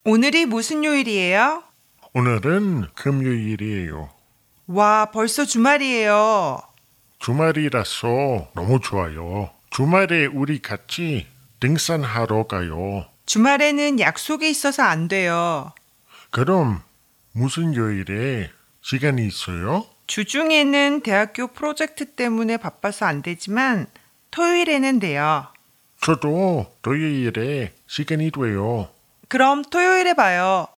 오늘이 무슨 요일이에요? 오늘은 금요일이에요. 와, 벌써 주말이에요. 주말이라서 너무 좋아요. 주말에 우리 같이 등산하러 가요. 주말에는 약속이 있어서 안 돼요. 그럼 무슨 요일에 시간이 있어요? 주중에는 대학교 프로젝트 때문에 바빠서 안 되지만 토요일에는 돼요. 저도 토요일에 시간이 돼요. 그럼 토요일에 봐요.